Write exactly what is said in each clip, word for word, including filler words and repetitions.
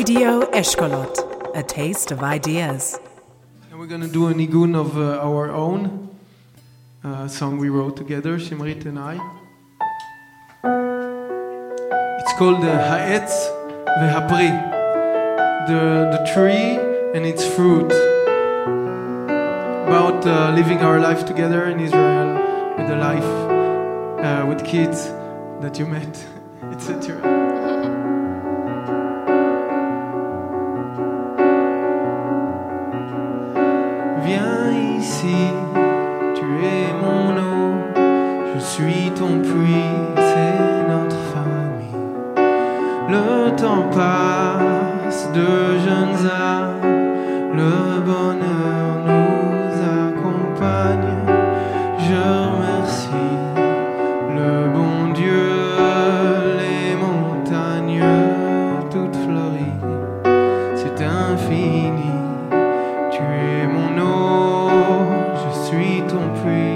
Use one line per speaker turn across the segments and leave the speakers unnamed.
Radio Eshkolot, a taste of ideas.
And we're going to do a nigun of uh, our own uh, song we wrote together, Shimrit and I. It's called uh, Ha'etz ve'hapri, the, the tree and its fruit. About uh, living our life together in Israel, with the life, uh, with kids that you met, et cetera. Viens ici, tu es mon eau, je suis ton puits, c'est notre famille. Le temps passe de jeunes âmes, le bonheur nous accompagne. Je remercie le bon Dieu, les montagnes toutes fleuries, c'est infini. Tu es mon eau, je suis ton puits.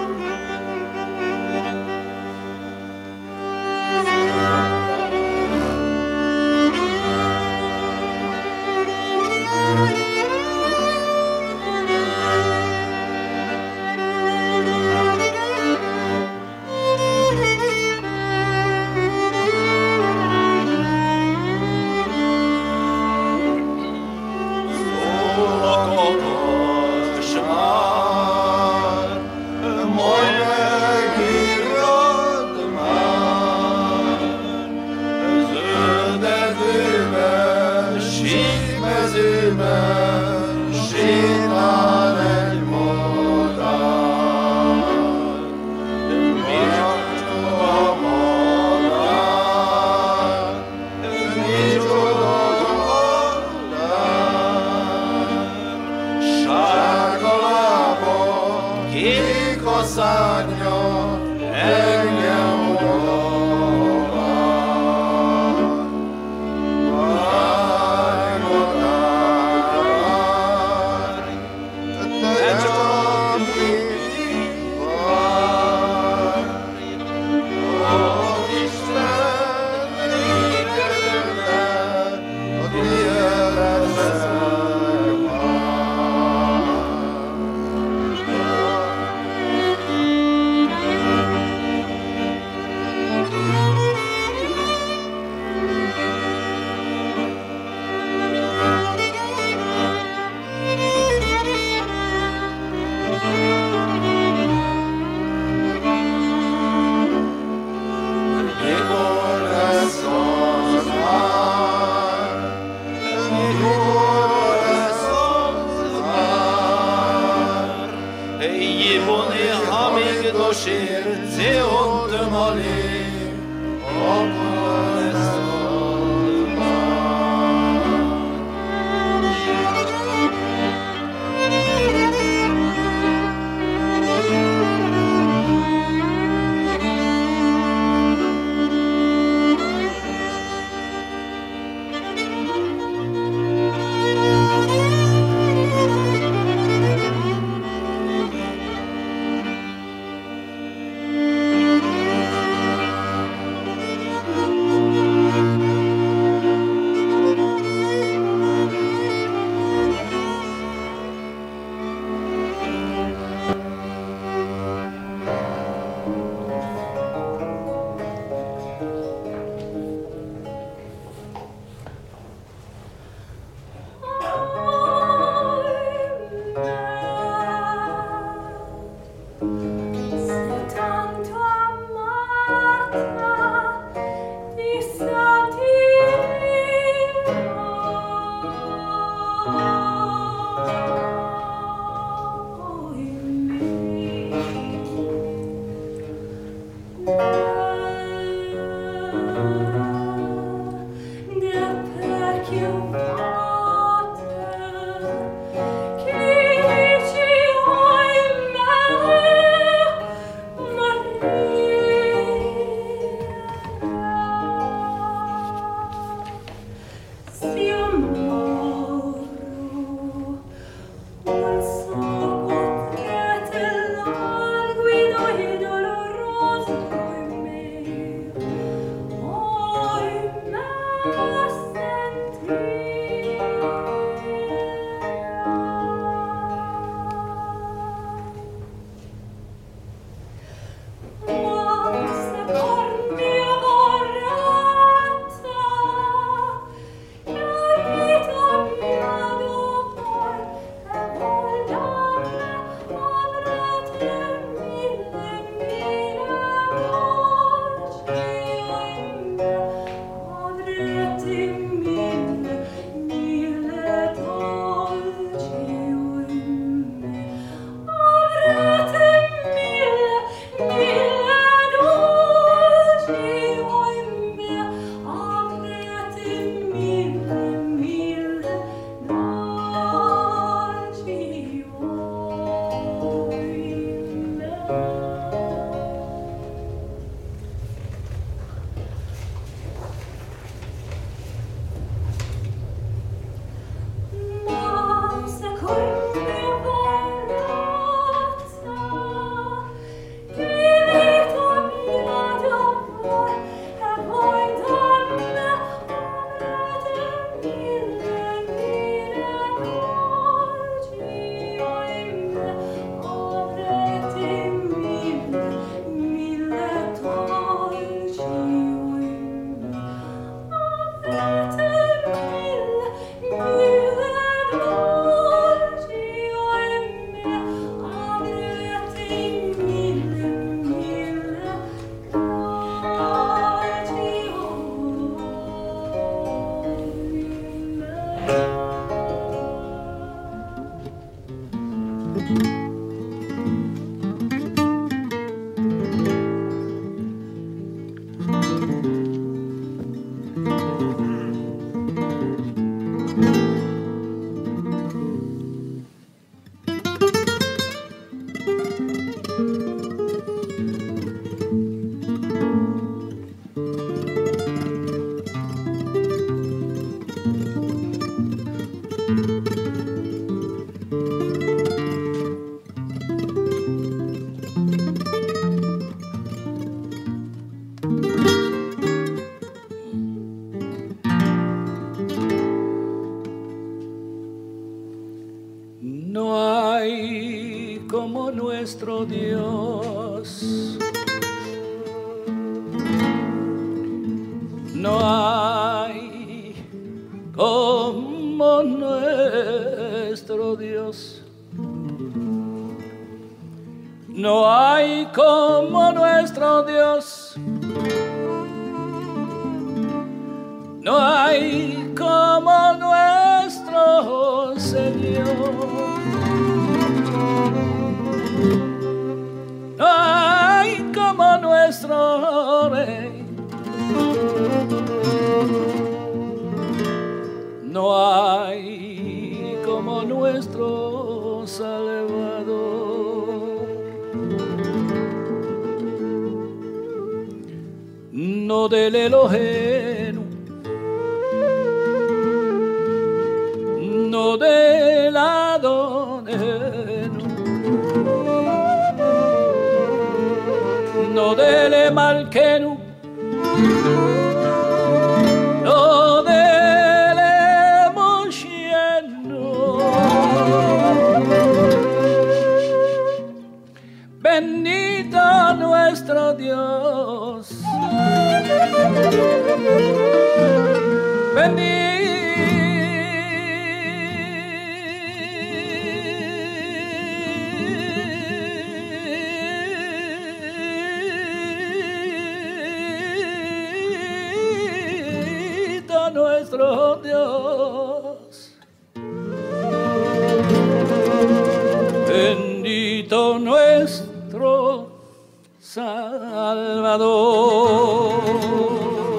nuestro Dios. No hay como nuestro Dios. No hay como nuestro Dios. No hay como nuestro Señor. No hay como nuestro Rey. No hay como nuestro Salvador. No del Elohenu, no del Adonenu, no del Malkenu, no del Moshenu. Bendito nuestro Dios. Bendito nuestro Dios. Bendito nuestro Salvador.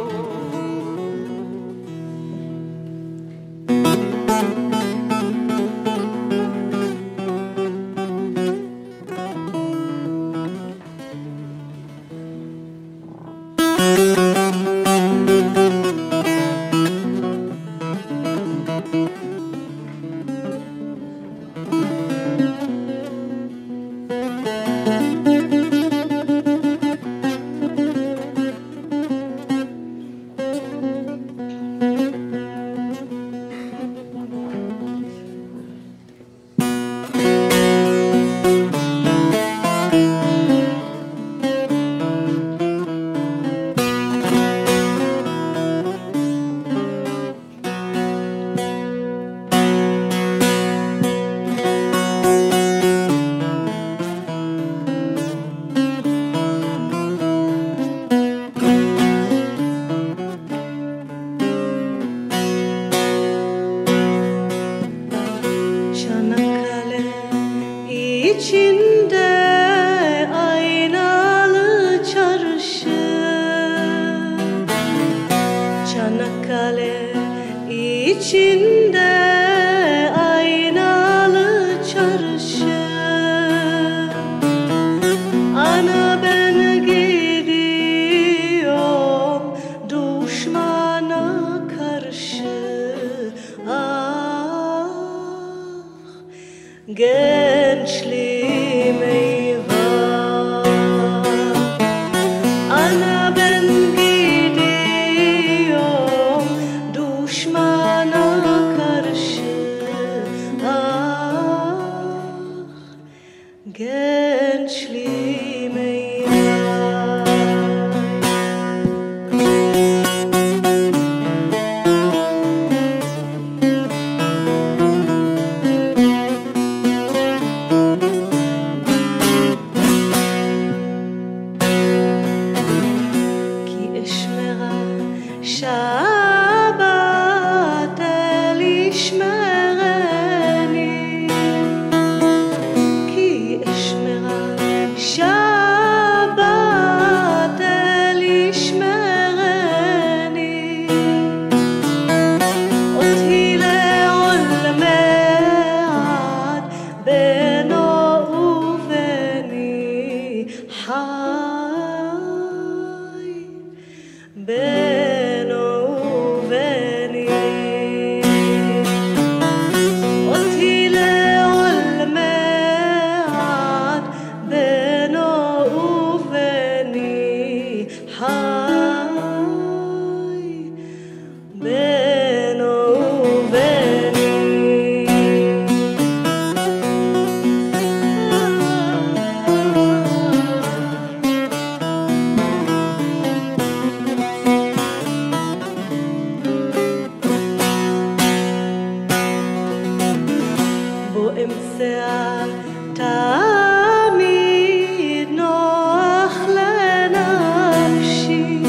içinde aynalı çarşı. Ana ben gidiyorum düşmana karşı. Ah gençliğim eyvah. Ana ben gidiyorum düşmana karşı. Ah gençliğim eyvah. Ki eşmera şabat el işmereni. Ki eşmera şabat el işmereni. Oti לעולמי בינו וביני חי בינו וביני. אותי לעולמי בינו וביני חי בינו וביני. באמצע תמיד נוח לנפשי.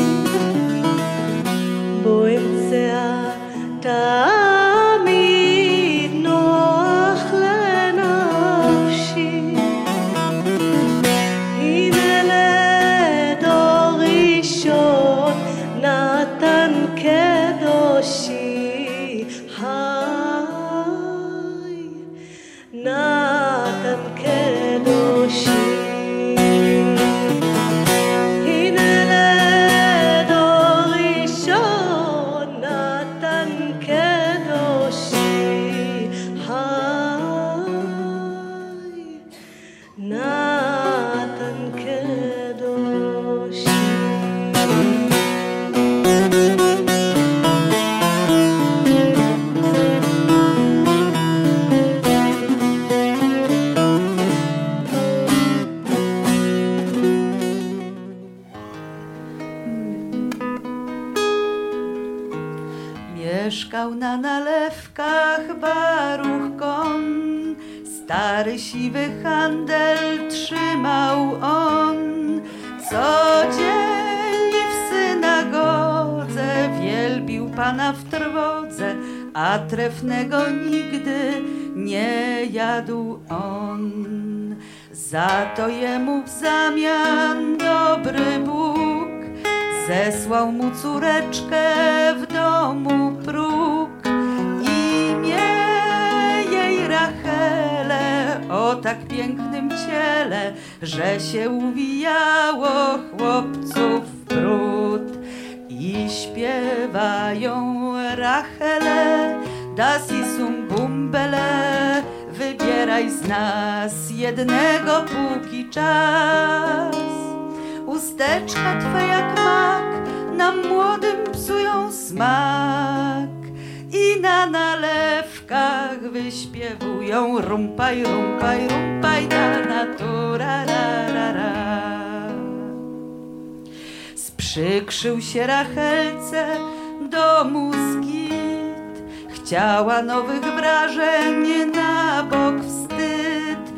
באמצע תמיד נוח לנפשי. הנה לדור ראשון נתן קדושי חי נתן קדושי. הנה לדור ראשון נתן קדושי חי נתן קדושי.
Mieszkał na nalewkach Baruch Kon, stary siwy handel trzymał on. Codziennie w synagodze wielbił Pana w trwodze, a trefnego nigdy nie jadł on. Za to jemu w zamian dobry Bóg zesłał mu córeczkę w domu próg. Imię jej Rachele, o tak pięknym ciele, że się uwijało chłopców brud. I śpiewają Rachele, das isum bumbele, wybieraj z nas jednego póki czas. Usteczka twe jak mak nam młodym psują smak i na nalewkach wyśpiewują rumpaj, rumpaj, rumpaj ta natura ra, ra, ra. Sprzykrzył się Rachelce domu skit, chciała nowych wrażeń na bok wstyd.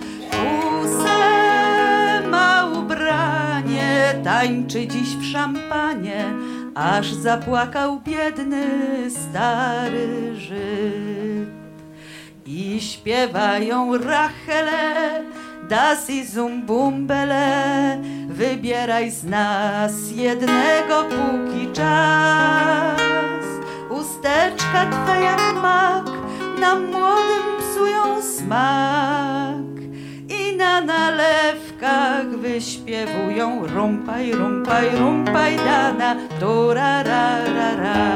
Kuse ma ubranie, tańczy dziś w szampanie, aż zapłakał biedny stary Żyd. I śpiewają Rachele, das isum bumbele, wybieraj z nas jednego póki czas. Usteczka twa jak śpiewują rumpaj, rumpaj, rumpaj dana, turararara.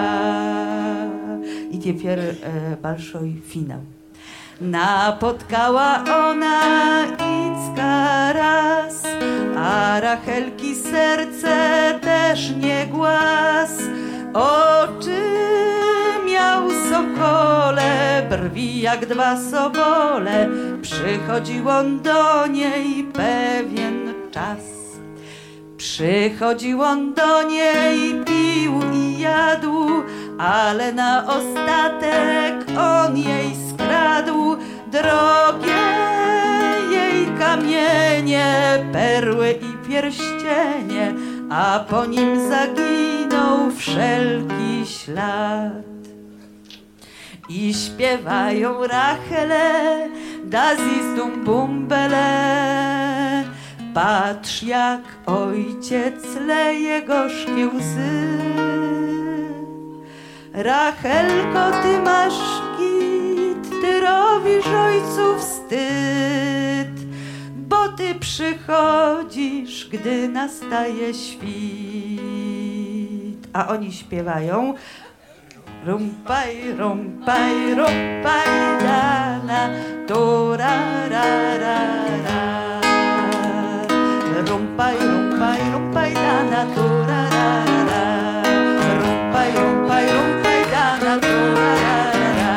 I теперь e, большой finał. Napotkała ona Icka raz, a Rachelki serce też nie głaz. Oczy miał sokole, brwi jak dwa sobole. Przychodził on do niej pewien czas. Przychodził on do niej, pił i jadł, ale na ostatek on jej skradł drogie jej kamienie, perły i pierścienie, a po nim zaginął wszelki ślad. I śpiewają Rachele, das ist um Bumbele. Patrz, jak ojciec leje gorzkie łzy. Rachelko, ty masz kit, ty robisz ojcu wstyd, bo ty przychodzisz, gdy nastaje świt. A oni śpiewają rumpaj, rumpaj, rumpaj dana, turararara. Rumpaj, rumpaj, rumpaj dana, turararara. Rumpaj, rumpaj, rumpaj dana, turararara.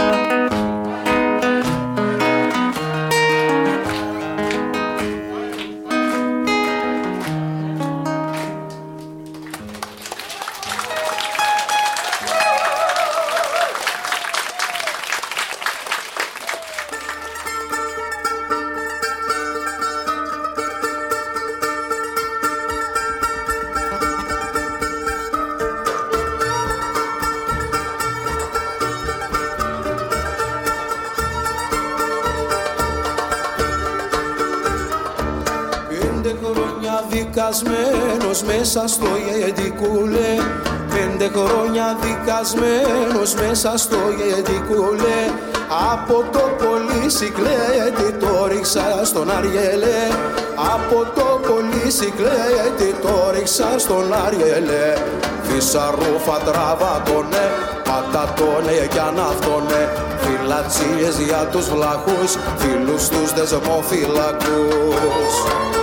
Δικασμένος μέσα στο γεντικούλε, πέντε χρόνια δικασμένος μέσα στο γεντικούλε. Από το πολυσικλέτη το ρίξα στον Αριέλε, από το πολυσικλέτη το ρίξα στον Αριέλε. Φυσαρούφα τραβάτωνε, πατατώνε κι αναυτώνε, φυλατσίες για τους βλαχούς, φίλους τους δεσμοφυλακούς.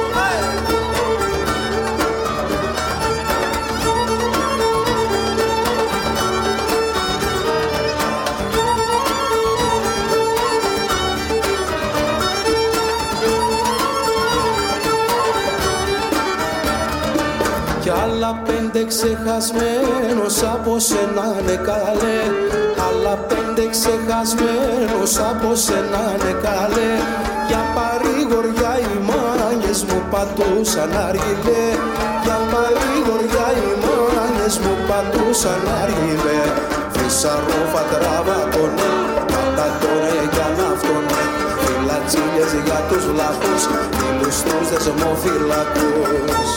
Άλλα πέντε ξεχασμένος από σένα ναι καλέ, άλλα πέντε ξεχασμένος από σένα ναι καλέ. Για παρηγοριά οι μάνιες μου πατούσαν αργιλέ, για παρηγοριά οι μάνιες μου πατούσαν αργιλέ. Φυσαρούφα τραβάτωνε, πατατώνε κι αναυτώνε, φυλατσίλιες για τους βλαχούς, φίλους τους δεσμοφυλακούς.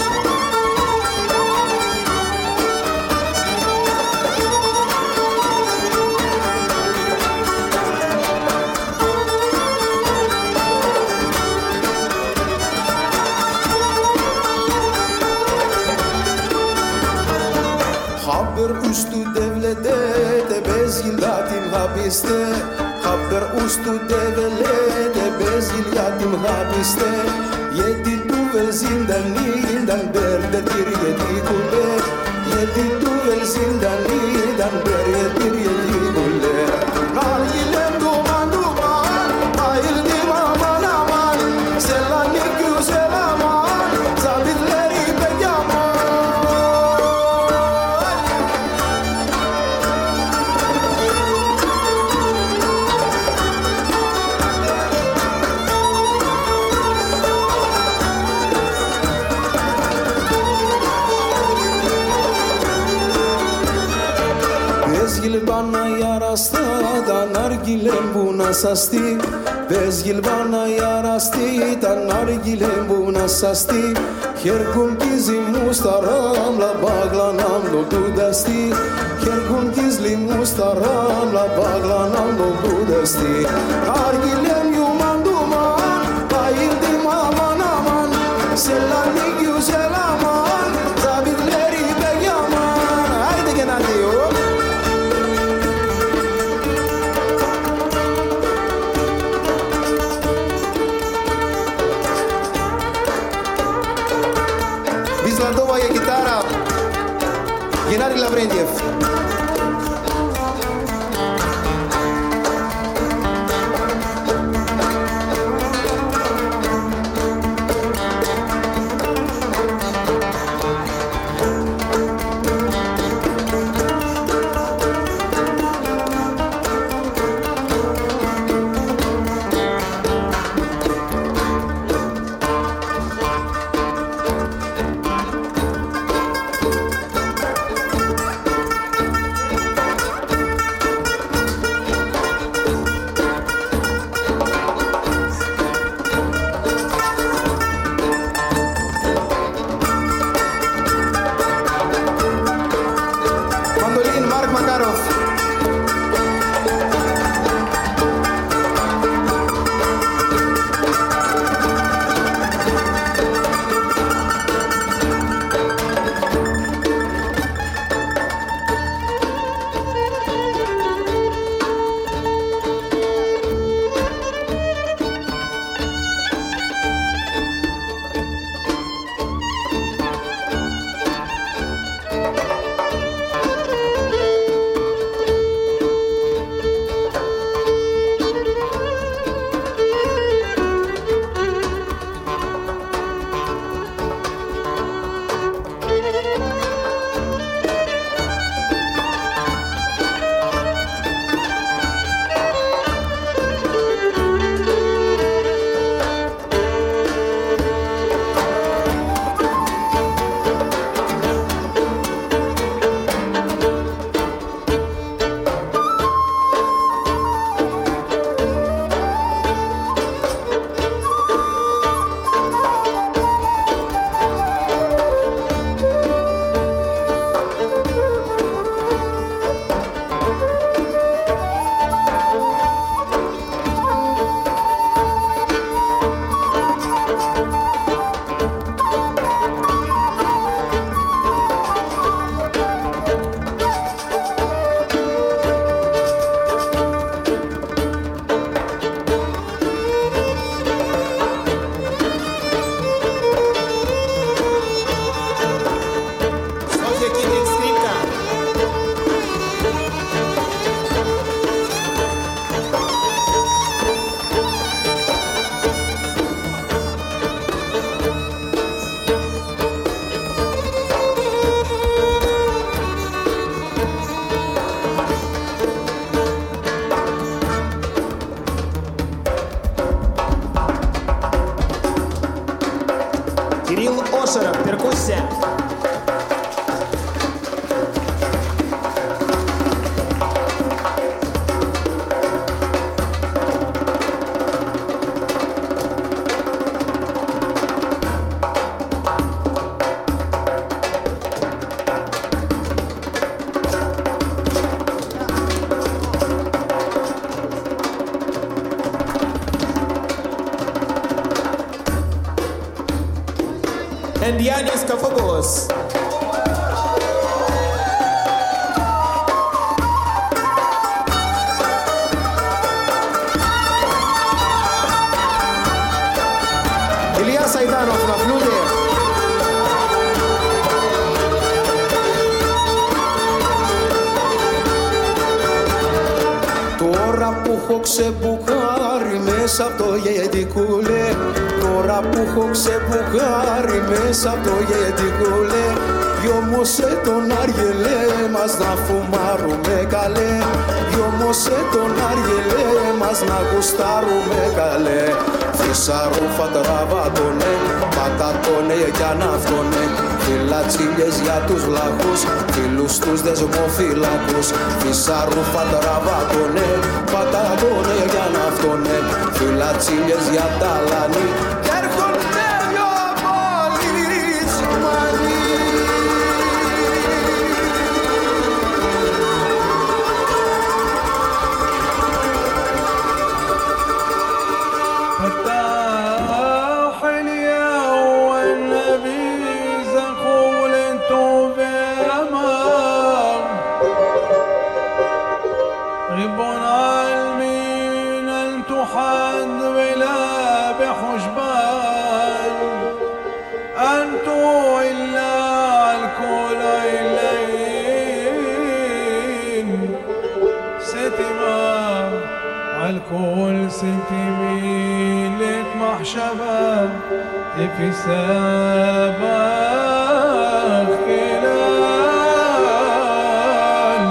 Haber ustu devlete bezil yatim hapiste, haber ustu devlete bezil yatim hapiste. Yedi duvel zindanidan berdedir yedi kule, yedi duvel zindanidan berdedir yedi kule. Nargilem duman duman, ayıldım aman aman, selanik güzel aman, zabitleri pek yaman. Gilbana yarastı da nargilem buna sasti, bez gilbana yarastı da nargilem buna sasti. Her gün gizli mustaramla bağlanam doldu desti, her gün gizli mustaramla bağlanam doldu desti. Nargilem yuman duman, bayıldım aman aman, selanik Yanis Kafogos. Ilias Aidanov na flutie. Τώρα που έχω ξεμπουκάρει μέσα από το γεντικούλε, τώρα που έχω ξεμπουκάρει μέσα από το γεντικούλε, γιόμωσε τον αργελέ μας να φουμάρουμε καλέ, γιόμωσε τον αργελέ μας να γουστάρουμε καλέ. Φυσαρούφα τραβάτωνε, πατατώνε για ναυτώνε, φυλατσίλιες για τους βλάχους, φίλους τους δεσμοφυλάκους. Φυσαρούφα τραβάτωνε, πατατώνε για ναυτώνε, φυλατσίλιες για τα λανί. Έρχονται δυο πολιτσμανοί.
الكل سنتي لك محشبة في سابق كلال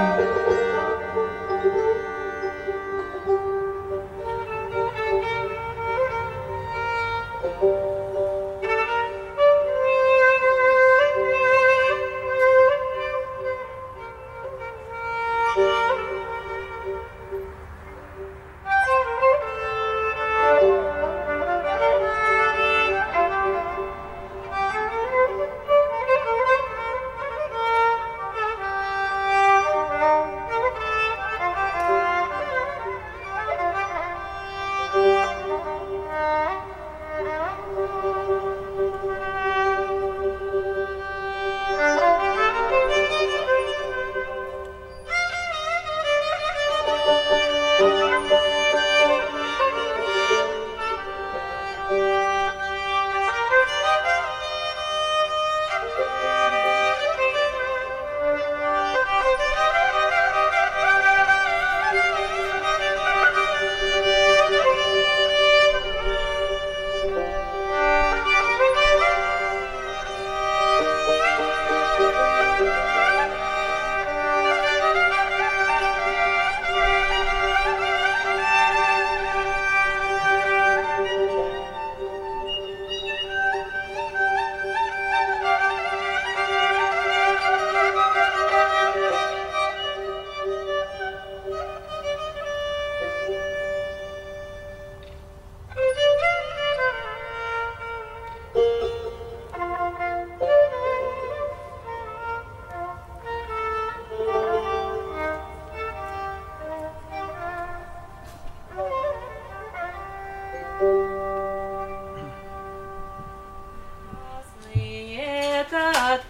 Этот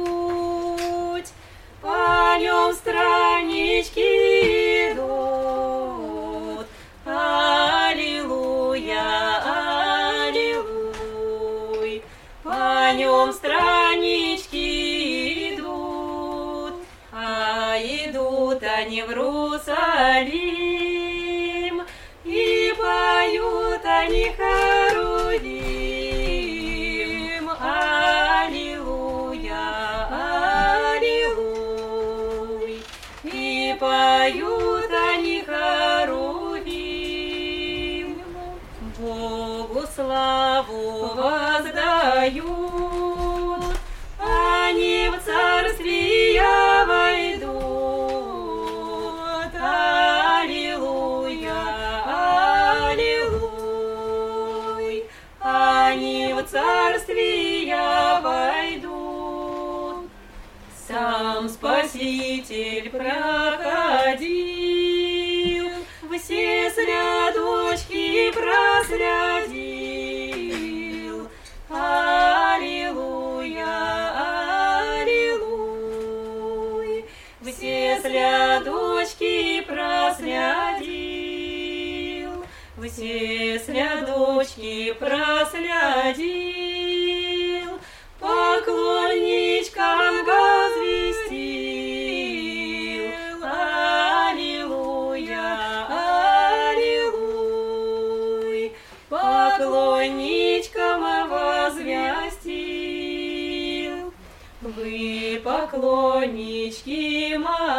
путь, по нем странички идут. Аллилуйя, аллилуйя, по нем странички идут, а идут они в Иерусалим, и поют они Харудим. Аллилуйя, аллилуйя, и поют они Харудим. Богу славу воздают, они в царствие войдут. Аллилуйя, аллилуйя, они в царствие войдут. Сам Спаситель проходил, все слядочки проследил. Аллилуйя. все слядочки прослядил, все слядочки прослядил, поклонничкам возвестил. Аллилуйя, аллилуйя, поклонничкам возвестил. Вы, поклоннички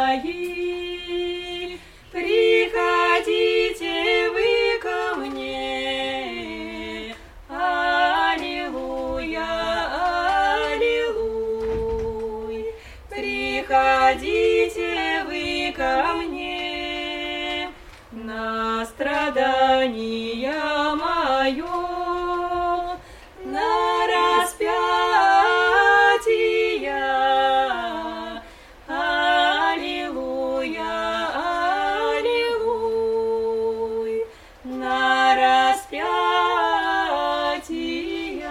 мои, приходите вы ко мне. Аллилуйя, аллилуйя, приходите вы ко мне. На страдания мое, на распятие. Аллилуйя, аллилуйя, на распятие.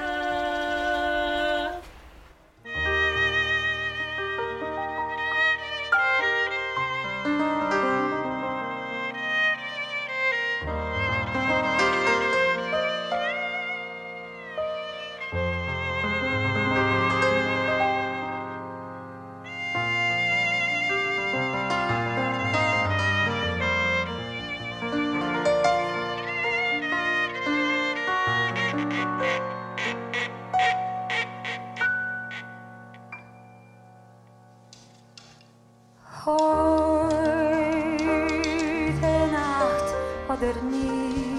Heute Nacht oder nie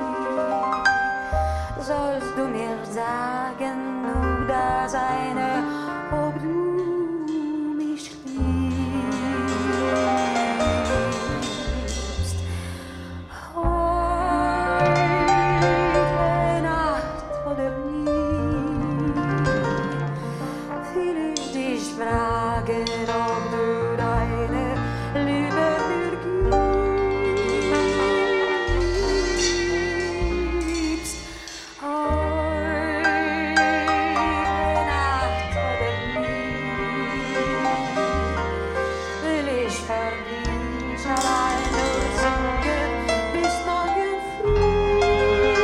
sollst du mir sagen, nur das eine, ob du mich liebst. Heute Nacht oder nie will ich dich fragen, ob du deine Liebe mir gibst. Heute Nacht oder nie will ich für dich allein nur singen bis morgen früh.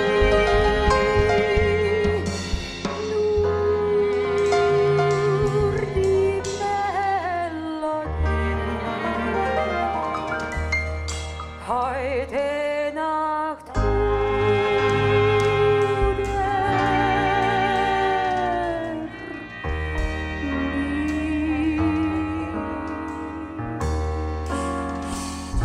Nur die Melodie. Heute Nacht oder nie.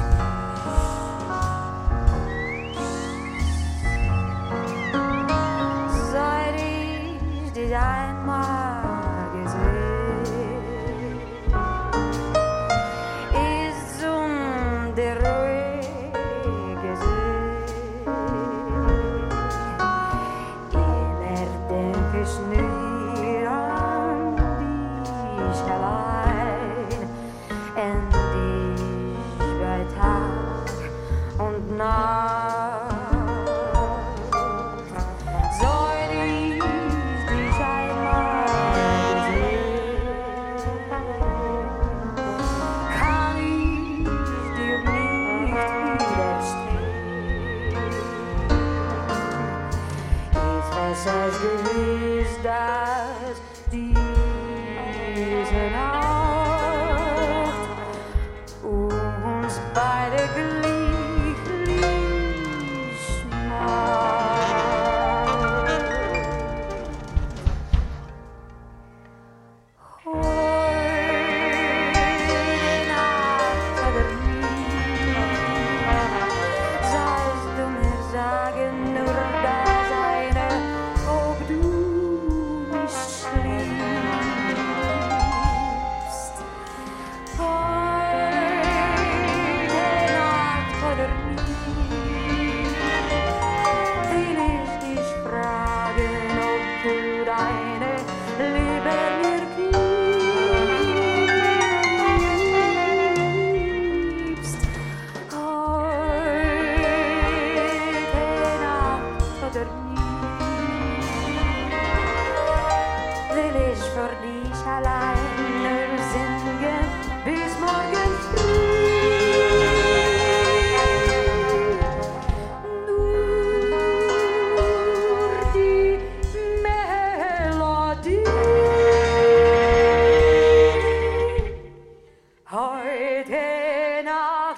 heute Nacht.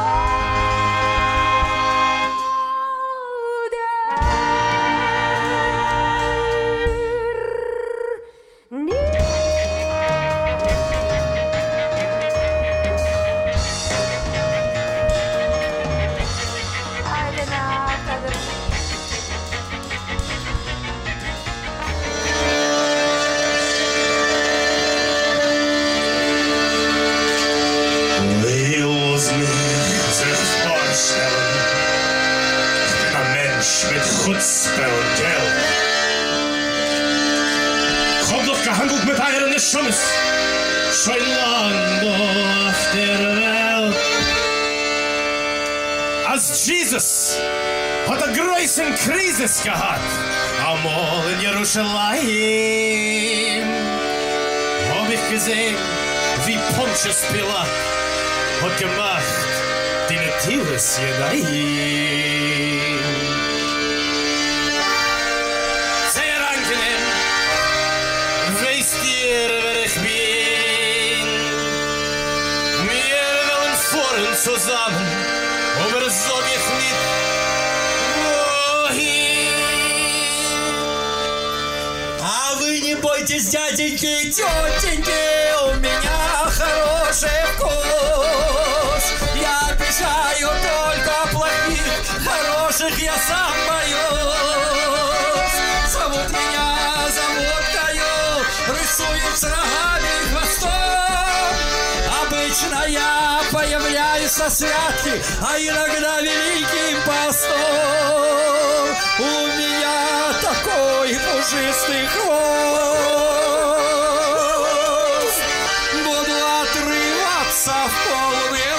Chutzpe und Geld. Ich hab doch gehandelt mit euren Schummes, schon lang auf der Welt. Als Jesus hat eine große Krise gehabt, einmal in Jerusalem, hab ich gesehen, wie Pontius Pilat hat gemacht, die Natives Jedaim. Zusammen, aber sag ich nicht, wohin.
А вы не бойтесь, дяденьки и тетеньки, у меня хороший вкус. Я обещаю только плохих, хороших я сам боюсь. Зовут меня заводкою, рисуют с рогами и хвостом. Обычно я появляюсь со святки, а иногда великим постом. У меня такой пушистый хвост. Буду отрываться в полный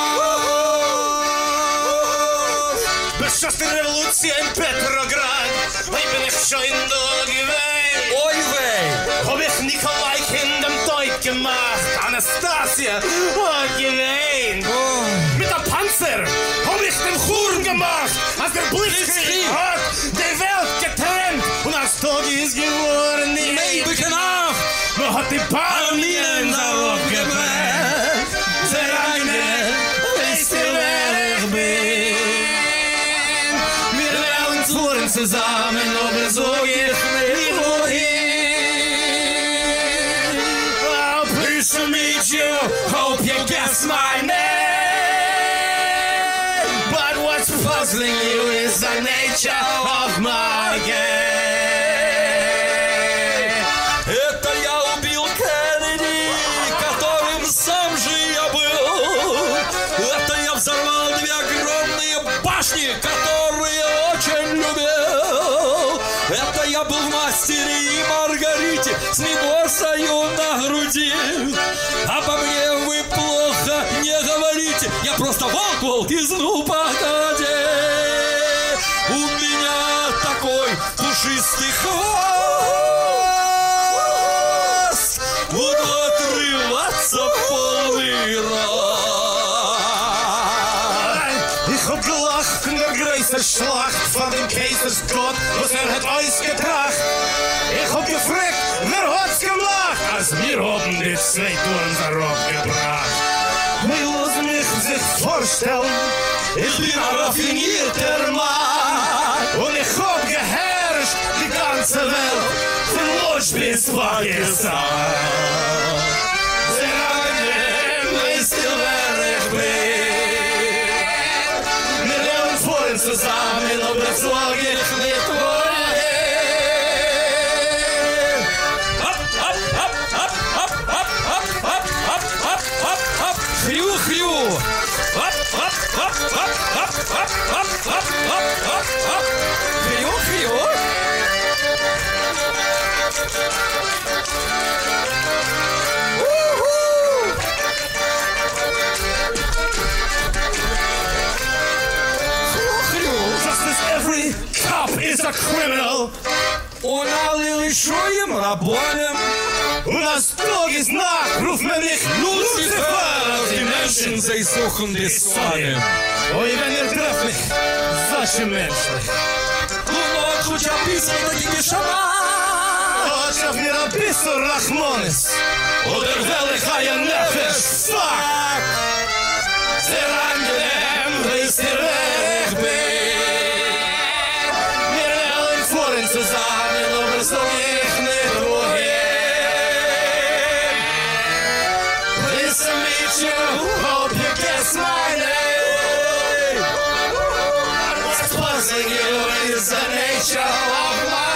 рост.
Beschossen Revolution in Petrograd, ich bin ich schon durchgewehen.
Ой, weh!
Hab ich Nikolai in dem Deut gemacht, Anastasia hat gewehen.
Oh.
Mit der Panzer hab ich den Churn gemacht, als der Blitzkrieg hat die Welt getrennt und als Tag ist geworden die
ewige Nacht.
Man hat die Palminen darauf gebrannt. Der eine weißt du, wer ich bin. Wir werden fuhren zusammen, aber so geht nicht wohin. Oh, pleased to meet you, hope you guess my name. But what's puzzling you is the nature of my game.
Это я убил Кеннеди, которым сам же я был. Это я взорвал две огромные башни, которые очень любил. Это я был в «Мастере и Маргарите» с мимозою на груди. Обо мне вы плохо не говорите, я просто волк-волк из «Ну, погоди». У меня такой пушистый хвост, буду отрываться в полный рост.
Ich hab gelacht in der größten Schlacht von dem Kaisersgott, was er hat ausgetracht. Ich hab gefragt, wer hat's gemacht, als wir haben die zwei Touren darauf gebracht. Wir lassen mich sich vorstellen, ich bin ein raffinierter Mann und ich hab geherrscht die ganze Welt, von Lodz bis Pakistan. Sehr angenehm, weißt du, wer ich bin. Wir leben vorhin zusammen, aber sag ich nicht wohin.
Hopp, hopp, hopp, hopp, hopp, hopp, hopp, hopp, hopp, hopp, hopp, hopp, хрю, хрю. Hopp, hopp, hopp, hopp, hopp, hopp, hopp, hopp, hopp, hopp, hopp, хрю, хрю.
Just as every cop is a criminal,
Он налил еще им рабонем.
у нас строгий знак, ruft man nicht Lucifer,
Die Menschen, sie suchen die Sonne.
Ой, wenn ihr trefft mich, solche Menschen.
Лунок луча писать, такими шаман.
Хоть auf mir ein bisschen Rachmanis. oder will ich ein Nefesh fuck? Sehr angenehm, wisst ihr, wer ich bin. Wir wollen vorhin zusammen, aber so ich nicht wohin. Nice to meet you, hope you guess my name. What's puzzling you is the nature of my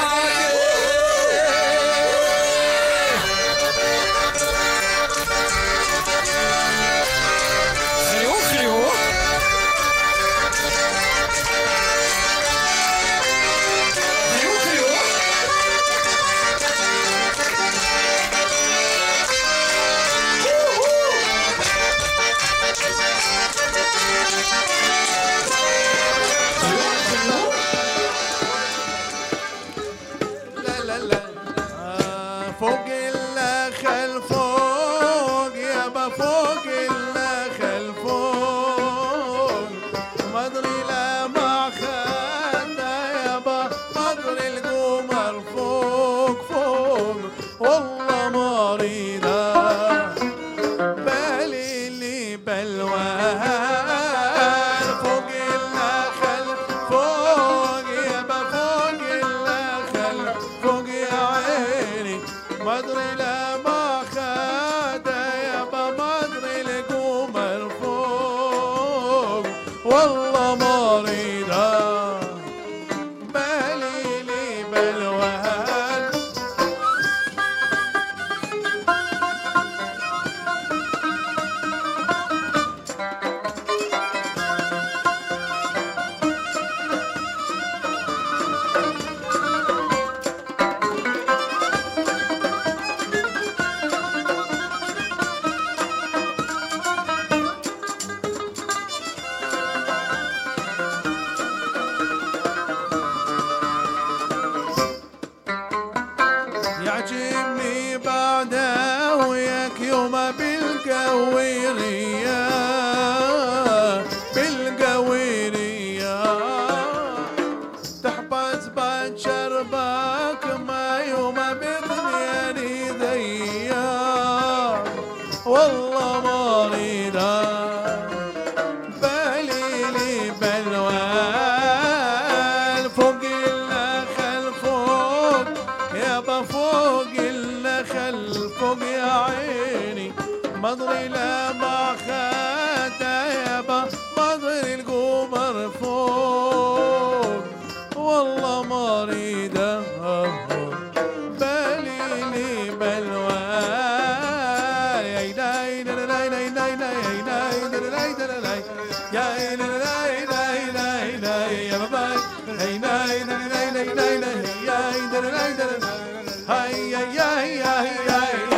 Hey, hey, hey, hey, hey.